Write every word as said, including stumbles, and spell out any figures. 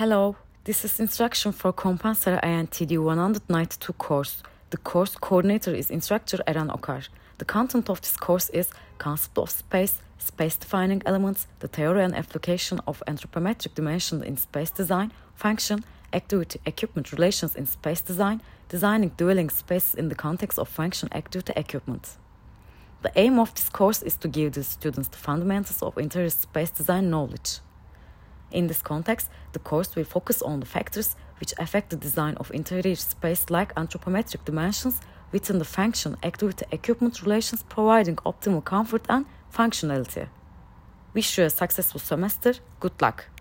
Hello, this is instruction for Compensar I N T D one ninety-two course. The course coordinator is instructor Eren Okar. The content of this course is concept of space, space-defining elements, the theory and application of anthropometric dimension in space design, function, activity, equipment relations in space design, designing dwelling spaces in the context of function, activity, equipment. The aim of this course is to give the students the fundamentals of interior space design knowledge. In this context, the course will focus on the factors which affect the design of interior space like anthropometric dimensions within the function, activity, equipment relations, providing optimal comfort and functionality. Wish you a successful semester. Good luck!